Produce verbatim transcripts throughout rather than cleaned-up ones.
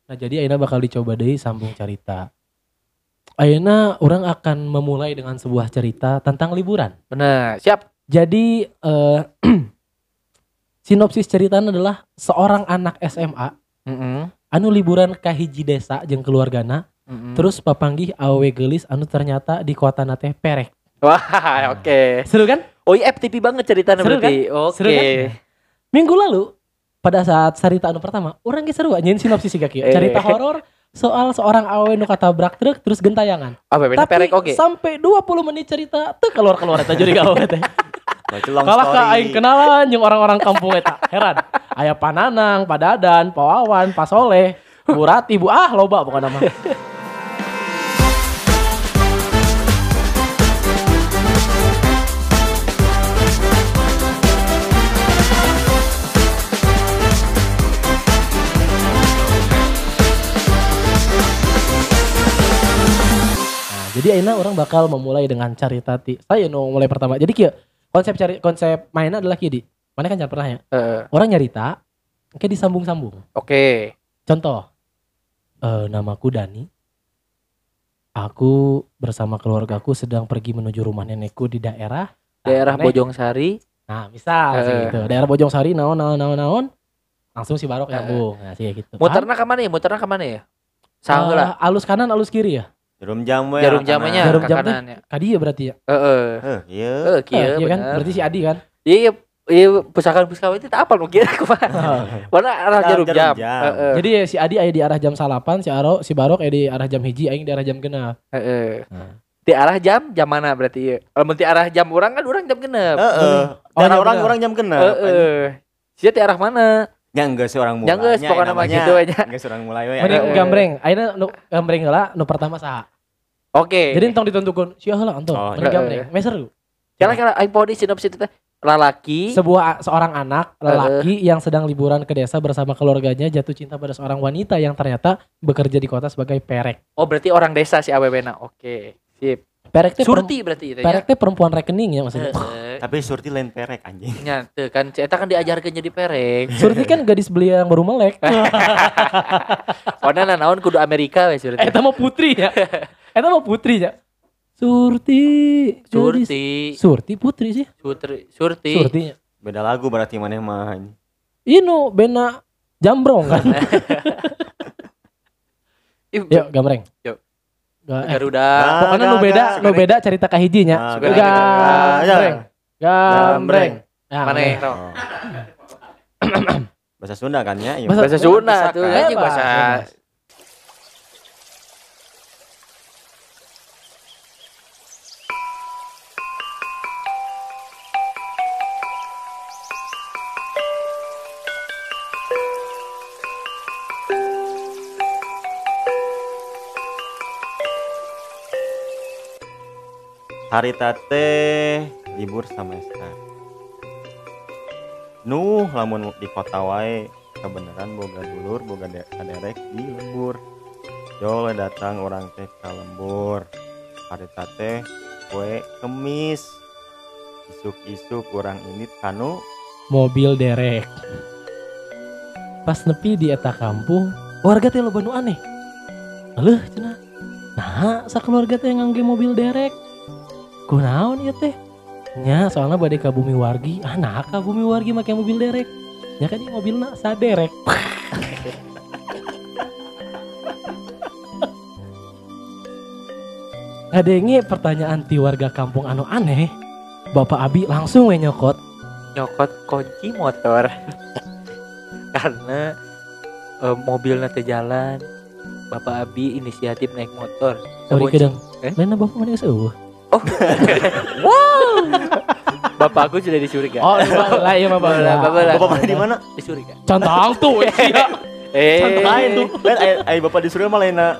Nah jadi ayeuna bakal dicoba deui sambung carita. Ayeuna orang akan memulai dengan sebuah cerita tentang liburan. Bener, siap. Jadi uh, sinopsis ceritanya adalah seorang anak S M A Mm-mm. anu liburan ka hiji desa jeung keluargana. Mm-mm. Terus papanggih awewe geulis anu ternyata di kotana teh perek. Wah, oke. Okay. Seru kan? Oh iya F T V banget ceritanya Seru berarti. kan? Oke. Seru kan? Minggu lalu pada saat cerita anu pertama, orang ge seru anjeun sinopsis siga kieu. Cerita horor soal seorang awewe nu katabrak truk terus gentayangan. Apa bener Tapi perek oke. sampai dua puluh menit cerita teu keluar-keluar eta jadi gawe teh. long Kalah ka story. aing kenalan jeung orang-orang kampung eta. Heran. Aya Pananang, Padadan, Pawawan, Pasoleh, Bu Rati, Bu ah loba pokona mah. Jadi ayeuna orang bakal memulai dengan carita ti. Saya nu mulai pertama. Jadi kieu konsep cari konsep mainnya adalah kieu di. Mana kan jangan pernah ya. Uh, Orang nyarita kayak disambung-sambung. oke. Okay. Contoh. Eh namaku Dani. Aku bersama keluargaku sedang pergi menuju rumah nenekku di daerah Daerah Aneh. Bojongsari. Nah, misal Eh. gitu. Daerah Bojongsari naon naon naon naon. Langsung si Barok Eh. nyambung. Nah, sih gitu. Muterna ka mana ya? Muterna ka mana ya? Sanggeul lah. Eh, alus kanan alus kiri ya. Jarum jam we. Jarum kana. jamnya Jarum ka jam teh. kanan ya. Kadi ya berarti ya. Heeh. Heh, iya. Heeh, Eh, kieu iya kan? bener. Berarti si Adi kan. Iya, iya pusaka-pusaka itu tak apal mungkin kumaha. Mana arah jarum Jarum jam. jam. Heeh. Jadi ya si Adi aya di arah jam salapan, si Aro, si Barok aya di arah jam hiji, aing di arah jam genep. Heeh. Nah. Di arah jam jam mana berarti ya? Kalau di arah jam orang kan orang jam genep. Heeh. Oh, Daerah iya orang bener. orang jam genep. Heeh. Sia di arah mana? Ya enggak seorang mulai. Ya geus, pokokna mah gitu we nya. Enggak seorang mulai we. Mending Eh. gambreng, ayeuna nu gambreng heula nu pertama saha? Oke. Jadi entong ditentukeun sia heula anton. Oh, Mending iya. gambreng. Meser lu. kira-kira aing poho di sinopsis itu teh lalaki. Sebuah seorang anak lelaki yang sedang liburan ke desa bersama keluarganya jatuh cinta pada seorang wanita yang ternyata bekerja di kota sebagai perek. Oh, berarti orang desa si awewena. Oke. Sip. Perek teh Surti berarti itu perem- perek teh perempuan rekening ya maksudnya. Heeh. Tapi surti lain perek anjing. Nya teu kan si eta kan diajarkeun jadi perek. Surti kan gadis belia yang baru melek. Pokona naon kudu Amerika we surti. Eta mah putri ya. Eta mah putri ya. Surti. gadis- Surti. Surti putri sih. Surti. Surti. Surtinya. Beda lagu berarti maneh mah. anjing. Inu bena jambrong kan. Ih, Yuk gambreng. Yuk. Ga- eh, Garuda. Nah. Pokoknya nu Gak, beda, gak, nu gak. beda cerita kahijinya. Ah, Suka gak. Gambreng. Gambreng. Nah, Maneh, maneh. Ro. Oh. Bahasa Sunda kan ya? Iya. Bahasa- Bahasa Sunda Pusaka. tuh anjing Bebas, bahasa. bebas. Hari tate libur semester. Nuh lamun di kota wae kebenaran boga dulur boga de- kaderek di lembur. Jole datang orang teh ka lembur. Hari tate kue kemis. Isuk-isuk orang ini kanu Mobil derek. Pas nepi di eta kampung, warga teh loba nu aneh. Aleuh cenah. Nah, sakeluarga teh ngangge mobil derek. Kunaon ieu teh? Nya soalnya bade ka bumi wargi. Ah, nah ka bumi wargi make mobil derek. Nya kan ieu mobilna saderek. Ngadenge pertanyaan ti warga kampung anu aneh. Bapak Abi langsung we nyokot. Nyokot kunci motor. Karena eh, mobilnya teh jalan. Bapak Abi inisiatif naik motor. Sorry Kunci- kedeng. Eh? Lain bapak mana geus eueuh. Oh. Wow. Bapak aku sudah dicuriga. Oh, lah iya bapak. Bapak, bapak, bapak mana di mana? Dicuriga. Cantang tuh sia. Eh. Santai tuh. Lain ai ai bapak di Surya mah lainna.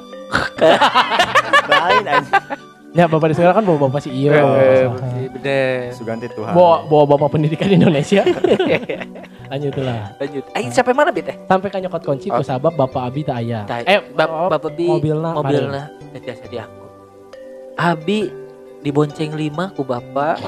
Lain anjing. Ya bapak di sekolah kan bawa bapak si Iyo. Eh, Bapak- bener. Suganti Tuhan. Bawa bawa bapak pendidikan Indonesia. Lanjut lah. Lanjut. Aing sampai mana bit teh? Sampai kan nyokot kunci ku Oh. sabab bapak Abi tak aya. Tah, Eh, bap- Bapak Bi mobilna mobilna jasa di aku. Abi dibonceng lima ku bapak.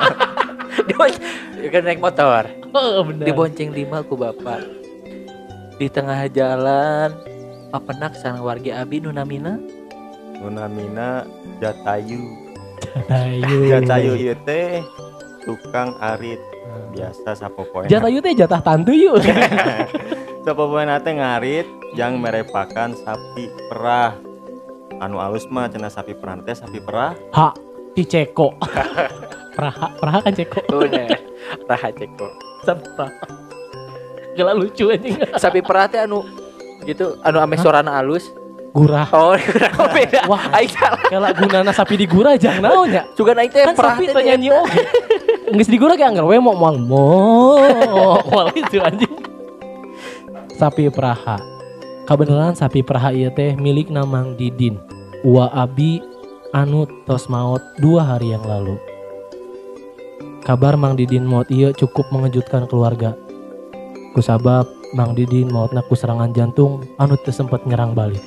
Dibonceng kan naik motor. Oh, bener. Dibonceng lima ku bapak. Di tengah jalan papenak sareng wargi abi nu namina Nunamina Jatayu. Jatayu. Jatayu ieu teh tukang arit. Biasa sapopoe. Jatayu teh jatah tantu yuk. Sapopoe teh ngarit yang merepakan sapi perah. Anu alus mah cenah sapi perah teh sapi perah. Ha, si Ceko. Praha, Praha kan Ceko. bener Raha Ceko. Sapi Praha. Gila lucu anjing. Sapi perah teh anu gitu anu ame sorana alus. Gurah. Oh, gurah beda. Wah, Aing salah. Kalau gunana sapi digurah jangan naon nya. Juga aing teh Kan perah sapi teh teu nyanyi oge. Geus digurah ge anggar we moal moal moal itu anjing. Sapi Praha. Kabeneran sapi Praha ieu teh milik Mang Didin. Ua abi anu tos maot dua hari yang lalu. Kabar Mang Didin maut ieu cukup mengejutkan keluarga. Kusabab Mang Didin mautna ku serangan jantung anu teu sempet nyerang balik.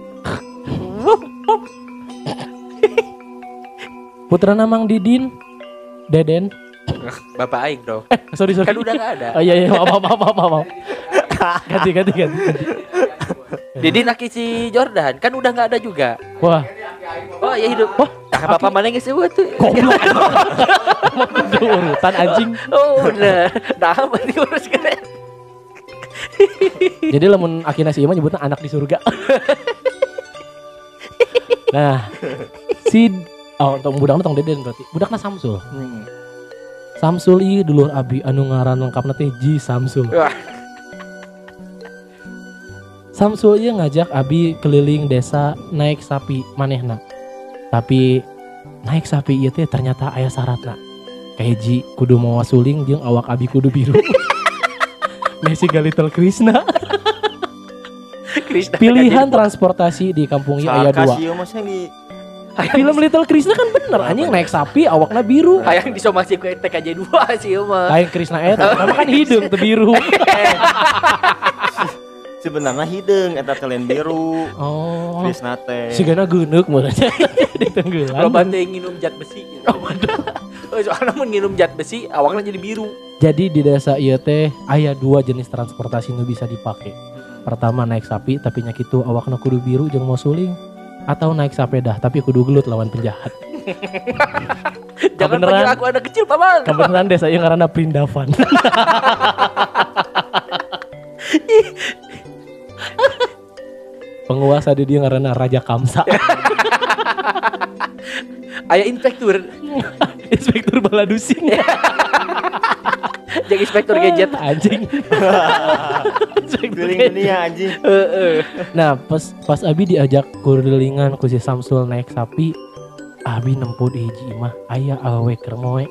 Putrana Mang Didin, Deden. Bapak aing dong. Eh, sorry sorry. Kan udah enggak ada. Oh iya iya, maaf maaf maaf maaf. Ganti ganti ganti. Jadi naki si Jordan kan udah enggak ada juga. Wah, Oh ya hidup. wah, Nah, bapak mana geus eueuh tuh. goblok. Itu urutan anjing. Oh udah. Nah, berarti urus keren. Jadi lamun akina si Ima nyebutnya anak di surga. Nah, si oh tong budakna tong Deden berarti. Budakna Samsul. Hmm. Samsul ieu dulur abi anu ngaran lengkapna teh Ji Samsul. Wah. Samsul ieu ngajak abi keliling desa naik sapi manehna. Tapi naik sapi ieu teh ternyata aya syaratna. Kahiji kudu mawa suling jeung awak abi kudu biru. Messi Little Krishna. Krishna Pilihan transportasi di kampung ieu aya dua. Kasih mah di Film Little Krishna kan bener anjing naik sapi awakna biru. hayang disomasi ku T K J dua sih mah. Lain Krishna eta, tapi kan hidung teu biru. sebenarnya hideung eta telen biru. Oh. Krisna teh. Sigana geuneuk meureun di tenggelan. Loba teh nginum zat besi. Oh, waduh. Soalnya mun nginum zat besi awakna jadi biru. Jadi di desa ieu teh aya dua jenis transportasi nu bisa dipake. Pertama naik sapi tapi nya kitu awakna kudu biru jeung mau suling, atau naik sepeda tapi kudu gelut lawan penjahat. Jangan Kebeneran. panggil aku anak kecil paman. Kebenaran desa ieu ngaranna Prindavan. Penguasa di dia ngaranna Raja Kamsa. Aya inspektur. Inspektur Baladusing. Jadi inspektur gadget. Anjing. Inspektur Keliling gadget. dunia anjing. Heeh. Nah pas pas Abi diajak kurilingan ku si Samsul naik sapi, Abi nempuh di hiji mah aya awewe keur moe.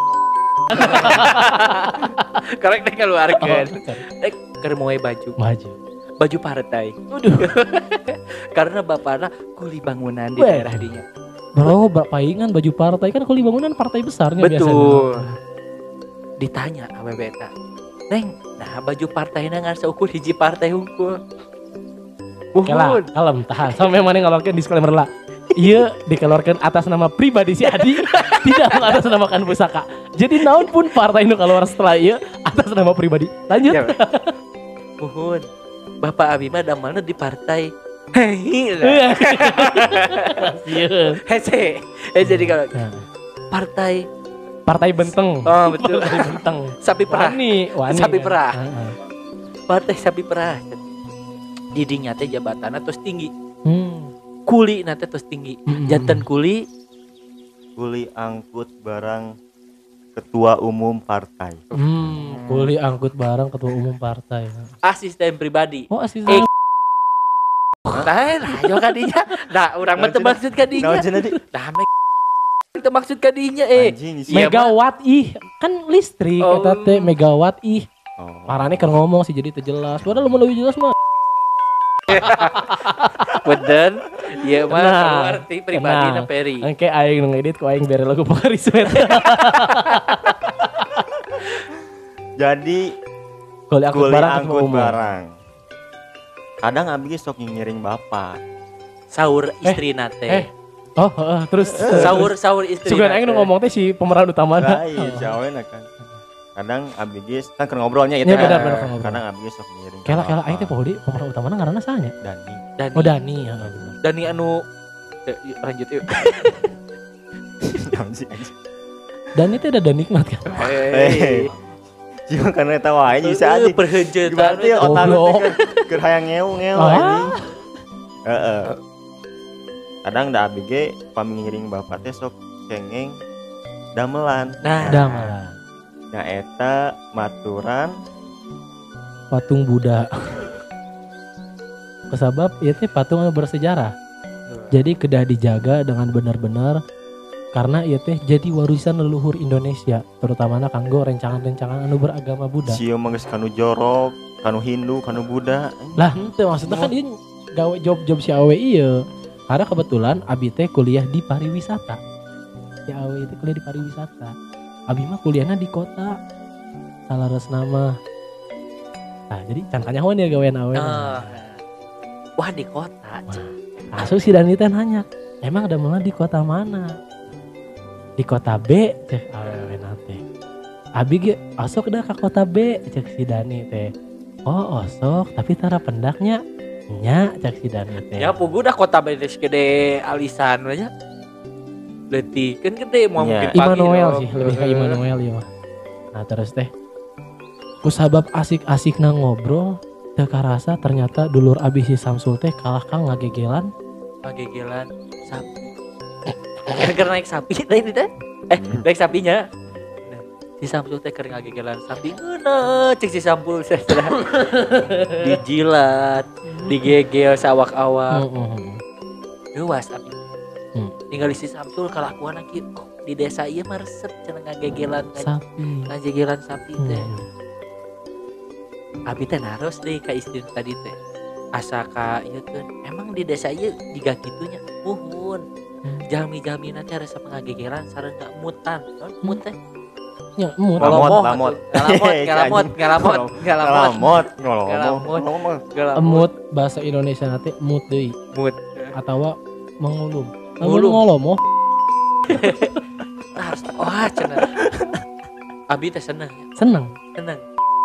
Karek teh keluarkeun. Oh, Eh keur moe baju. maju. Baju partai. Waduh. Karena bapakna kuli bangunan di Weh. daerah dinya. Bro, paingan baju partai kan kuli bangunan partai besarnya Betul. biasanya. Ditanya awewe eta. Neng, nah baju partainya ngan seukur hiji partai hungkul. Kela, Buhun. kalem, tahan. Sampai mana ngeluarkan disclaimer lah. Iya dikeluarkan atas nama pribadi si Adi, tidak mengatasnamakan pusaka. Jadi naon pun partai nu keluar setelah iya atas nama pribadi. Lanjut. Ya, Buhun. Bapak Abi mah damalna di partai. Hei. Iya. Hese. Hese di kalau Nah, partai partai Benteng. Oh, betul. Partai Benteng. sapi perah. Wani, wani. Sapi kan? perah. Heeh. Partai sapi perah. Didinya teh jabatanna terus tinggi. Hmm. Kuli na teh terus tinggi. Mm-mm. Janten kuli Kuli angkut barang ketua umum partai. Hmm, kuli angkut barang ketua umum partai. asisten pribadi. Oh, asisten. Eh, Nah, nah, yo kadinya. Nah, urang mah teu maksud Naon kadinya. cenah di? Nah, me teu maksud kadinya eh. Anjing isi. Iya, Megawatt ih, kan listrik Oh. eta teh megawatt ih. Oh. Parane kan ngomong sih jadi teu jelas. Padahal lu lebih jelas mah. Bener. Iya mah Nah, arti pribadi na nah. Peri. Engke aing nu ngedit ku aing bere lagu Pakarismet. Jadi Kuli angkut kuli barang ketua angkut umum. barang. Kadang abi ge sok ngiring bapak. Saur istri na Eh, teh. oh, heeh, terus Saur saur istri. sugan aing nu ngomong teh si pemeran utama. Lain, si awena kan. kadang abdi geus kan keur ngobrolnya itu Iya, benar, benar, ngobrol. kadang abdi geus sok ngiring Kela kela aing teh poho di pemeran utamana ngaranna sahanya? Dani Dani. Oh Dani, heeh bener. Dani anu eh, yuk, lanjut yuk. naon sih anjing Dani teh ada nikmat kan. Hei. Cuma karena eta wae bisa aja perheujetan. berarti otak lu Goblok. teh keur- keur hayang ngeu-ngeu Ah. anjing heeh kadang da abdi ge pami ngiring bapak teh sok cengeng damelan Nah, Udah malah. nya eta maturan Patung Buddha. Kesabab ieu teh patung anu bersejarah. Jadi kedah dijaga dengan benar-benar karena ieu teh jadi warisan leluhur Indonesia, terutama kanggo rencangan-rencangan anu beragama Buddha. sieun mah geus kanu jorok kanu Hindu kanu Buddha Lah henteu maksudnya kan ieu gawe job-job si awe ieu. Karena kebetulan abi teh kuliah di pariwisata. Si awe itu kuliah di pariwisata. Abi mah kuliahnya di kota. Salaresna mah. Nah, jadi can kanyahoan ya gawean awe. Ah. Wah di kota. Asuh si Dani teh nanya, emang ada mana di kota mana? Di kota B, cek awewe teh. Abi ge osok dah ke kota B, cek si Dani teh. Oh osok, tapi tara pendaknya nya cek si Dani teh. Ya pugu dah kota bedes gede alisan banyak. Leutik kan gede mau Ya. mungkin pagi. Immanuel dong. sih, lebih ke Immanuel ya mah. Nah terus teh, ku sabab asik-asik na ngobrol, teu karasa ternyata dulur abi si Samsul teh kalah kang ngagegelan. Pagegelan sapi. Karena naik sapi tadi teh. Eh, naik sapinya. Nah, si Sampul teh keur ngagegelan sapi. Ngeuna cek si Sampul teh. Dijilat, digegel sawak-awak. Heeh. Luas abi. Hmm. Tinggal si Samsul kalakuan lagi oh, di desa ieu mah resep cenah ngagegelan Sapi. ngagegelan sapi teh. Hmm. Abi teh naros deui ka istri tadi teh. Asa ka ieu kan emang di desa ieu jiga kitunya muhun. Hmm. Jalmi-jalmina teh resep ngagegelan sareng gak mutan. Non mut teh. Ya, mut. Lamot, Ngolomoh lamot. atuh. Ngalamot, ngalamot, ngalamot, ngalamot. Ngalamot, ngolomot, Ngalamot. ngolomot. Ngalamot. Emut bahasa Indonesia nanti mut deui Mut. atau mengulum. Ngulum. Ngolomoh. Nah, harus wah cenah. Abi teh seneng, ya. Seneng. seneng.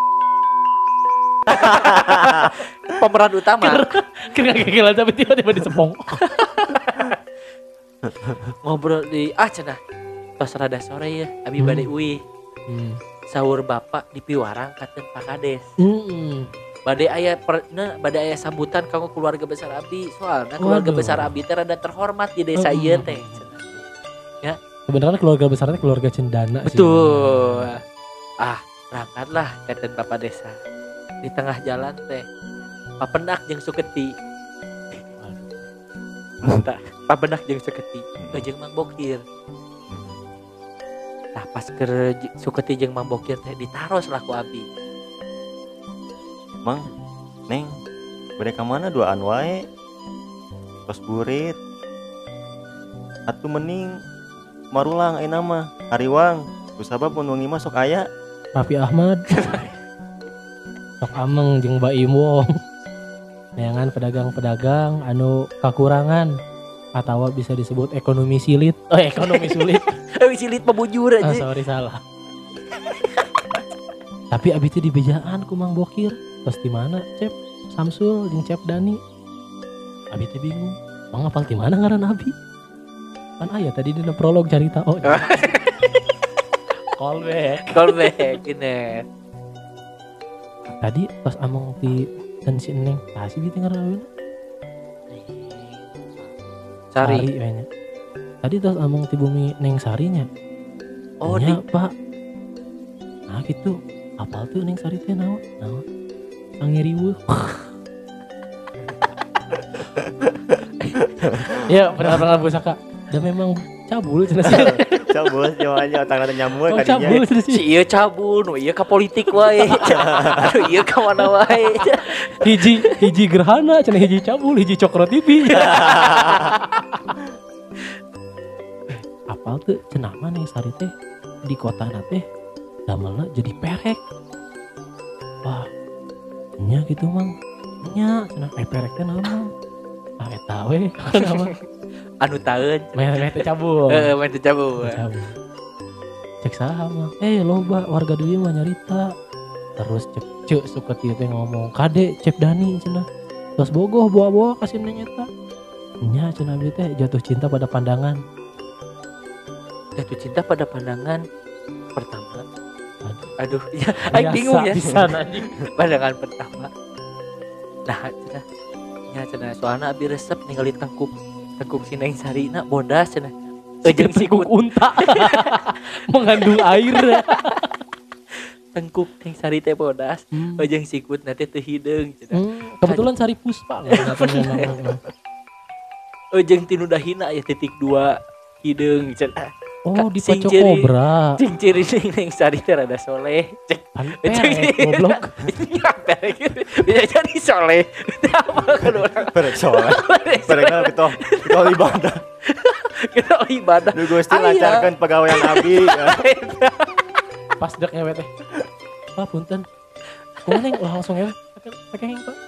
Pemeran utama Kira gagal tapi tiba-tiba disepong. ngobrol di ah cenah. Pas rada sore ya, abi Hmm. bade uih. Hmm. Sahur bapak di Piwarang katen Pak Kades. Hmm. Bade aya per, nah, bade aya sambutan kanggo keluarga besar abi. Soalnya keluarga Waduh. besar abi teh rada terhormat di desa Hmm. ieu teh. Sebenarnya keluarga besarnya keluarga cendana sih. Betul. Ah, berangkatlah katen bapak desa. Di tengah jalan teh papendak jeung Suketi. Tah, papendak jeung Suketi, eh, jeung Mang Bokir. Nah, pas keur J- Suketi jeung Mang Bokir teh ditaros lah ku abi. Mang, Neng, bade ka mana duaan wae? Tos burit. Atuh mending marulang ayeuna mah hariwang. Kusabab mun wengi mah sok aya. Raffi Ahmad. Sok Ameng jeung Mbak Imwong. Neangan pedagang-pedagang anu kakurangan atau bisa disebut ekonomi silit. Oh, ekonomi sulit. Eh silit pembujur Ah, aja. sorry salah. Tapi abis itu di bejaan ku Mang Bokir. Terus di mana, Cep? Samsul jeung Cep Dani. Abi teh bingung. Mang apal di mana ngaran Abi? Kan aya tadi dina prolog carita oh. Callback. Callback gini. Tadi pas among di dan si Neng, tah si biting ngaran Abi. Sari. kayaknya. Tadi terus among di bumi Neng Sarinya. Oh, Nya, di Pak. Nah gitu. Apal tuh Neng Sari teh naon? Naon? Angiriweuh. Ya, benar-benar pusaka. Dan memang cabul cenah sih. Cabul jawabannya otak teh nyambung Oh, kadinya. cabul cenah si sih. ieu cabul, nu ieu ka politik wae. Aduh ieu ka mana wae. Hiji hiji gerhana cenah hiji cabul, hiji cokro T V. Apal tuh cenah mah Neng Sari teh di kota teh damelna jadi perek. Wah, nya gitu Mang. Nya cenah eh perek teh naon Mang? Ah eta we nama. Anu taeun. Meh meh teh cabul. Heeh, mah teu cabul. Cabul. cek sama eh loba warga di mah nyarita terus cek cek suka tieu teh ngomong kade cep Dani cenah terus bogoh bawa-bawa kasih neng eta nya cenah abi teh jatuh cinta pada pandangan Jatuh cinta pada pandangan pertama. Aduh, ya, Biasa, aing bingung ya. pisan, anjing. Pandangan pertama. Nah, cenah. Ya cenah soalna abi resep ningali tengkuk tengkuk si Neng Sarina bodas cenah. Ejeng sikut unta mengandung air. tengkuk Neng Sari teh bodas. Hmm. Ejeng sikut nanti teu hideung cenah. Hmm, kebetulan Sari Puspa lah Ejeng tinu dahina ya titik dua hideung cenah. oh di Sing Paco ciri- Cobra Cing ciri Neng Sari teh rada soleh. Cek kan perek goblok perek bisa jadi soleh. Apa kedua orang Perek soleh. Perek kan kita kita ibadah. kita ibadah. Duh Gusti Aya. lancarkan pegawaian abi. Ya. pas dek ngewe teh pak punten kumaha neng ulah langsung ngewe pakai heng pak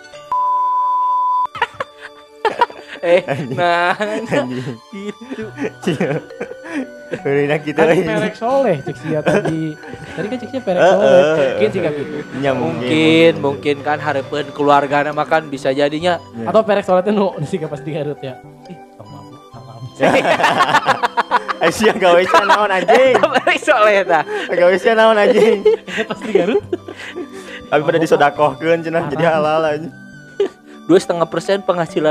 Eh, nah, Anjing. gitu. Heureuy kita kan euy. perek soleh cek sia tadi tadi kan cek sia perek Eh, soleh eh, mungkin sih eh. gitu Nya Mungkin, mungkin kan hareupeun keluargana makan bisa jadinya Ya. atau perek soleh teh nu sih pas digarut ya ih tong mabuk haram Eh sia gawe sia naon anjing. Balik soleh tah. Gawe sia naon anjing. pas digarut Abi pada disodakohkeun cenah jadi halal anjing. Dua setengah persen penghasilan.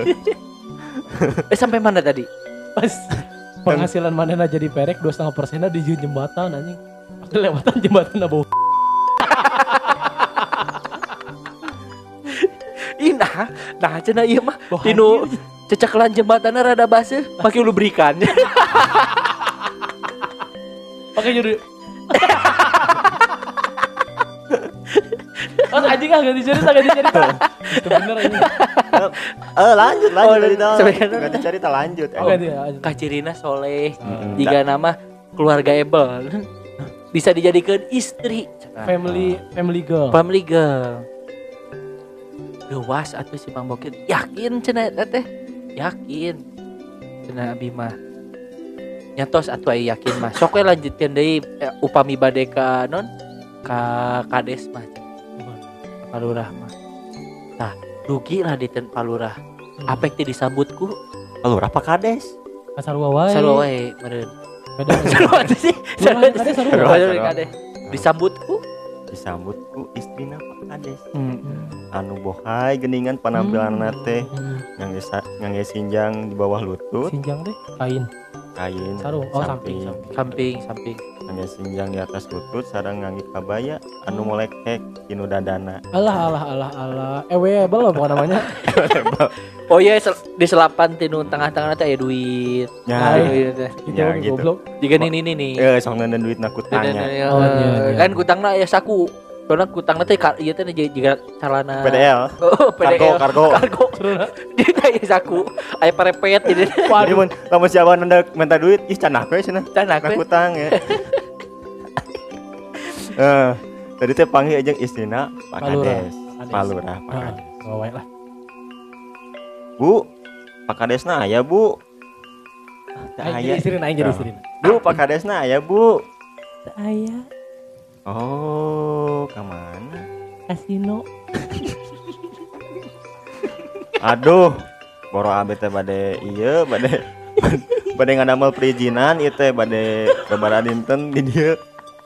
eh sampai mana tadi? pas penghasilan manehna jadi perek dua setengah persenna di jembatan anjing pas lewatan jembatan bau Ih nah, nah cenah ieu mah Bau tinu anjir. cecekelan jembatanna rada baseuh pakai lubrikan. pakai juri Oh anjing ah ganti cerita ganti cerita itu bener anjing Eh lanjut lanjut Oh, dari tahu. sampai kan- Ganti cerita lanjut. oh ganti ya anjing. Kacirina soleh. Mm-mm. Jika nama keluarga Ebel bisa dijadikan istri. family family girl Family girl. Gewas atuh si Mang Bokir. Yakin cenah eta teh? Yakin. Cenah abi mah. Nyatos atuh aya yakin mah. Sok we lanjutkeun deui eh, upami bade ka non ka kades mah. Palurah mah. Tah, rugi lah di ten palurah. Apek teh disambutku Palurah apa kades? kasarua wae sarua wae meureun. beda Sarua teh sih. Sarua kades, sarua. Sarua kades. Disambutku. Disambut ku istrina Pak Kades. Hmm. Anu bohai geningan penampilan teh Hmm. ngangge sa- ngangge sinjang di bawah lutut, sinjang deh kain kain sarung oh samping samping Samping samping. ngangge sinjang di atas lutut sareng ngangge kabaya anu molek-hek tinu dadana. alah alah alah alah ewe belum bukan namanya Oh iya sel- di selapan tinu tengah-tengah teh aya duit. Ya, Aya duit teh. gitu Ya, ya, gitu. goblok Jika ini nih nih. Eh sok nenden duit na Dan- kutanya. dan- Oh, iya, iya. Kan kutangna aya saku. Soalnya kutangna teh ka- ieu teh juga calana P D L. Oh, P D L. Kargo, kargo. Kargo. Dia kayak saku. Aya parepet jadi. Jadi mun lamun siapa nenda minta duit, ih canah we cenah. Tanah Na we. kutang ya. Eh, tadi teh panggil aja istrina Pak Palurah. Kades. Kades. Palurah, Pak nah Kades. bawa lah Bu, Pak Kadesna aya, Bu. Teu aing aya. jadi istri aing jadi Oh. istri Bu, Pak Kadesna aya, Bu. aya Oh, kemana? kasino Aduh, boro abet teh bade ieu, bade bade ngadamel perizinan ieu teh bade lebaran dinten di dieu.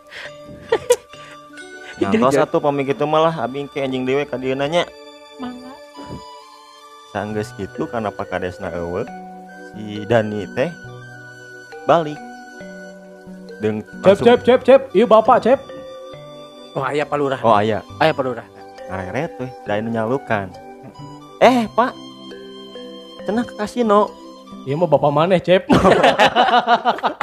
Ngantos atuh pami kitu malah abi ke anjing dewe ka dieu nanya. mangga Sanggeus kitu kana Pak Kadesna eueuh, si Dani teh balik. Deung cep cep cep cep iya bapak cep Oh aya palurah. Oh aya, Aya palurah. ngareret teh, da anu nyalukan. Eh, Pak. Cenah ke kasino. iya mah bapak maneh cep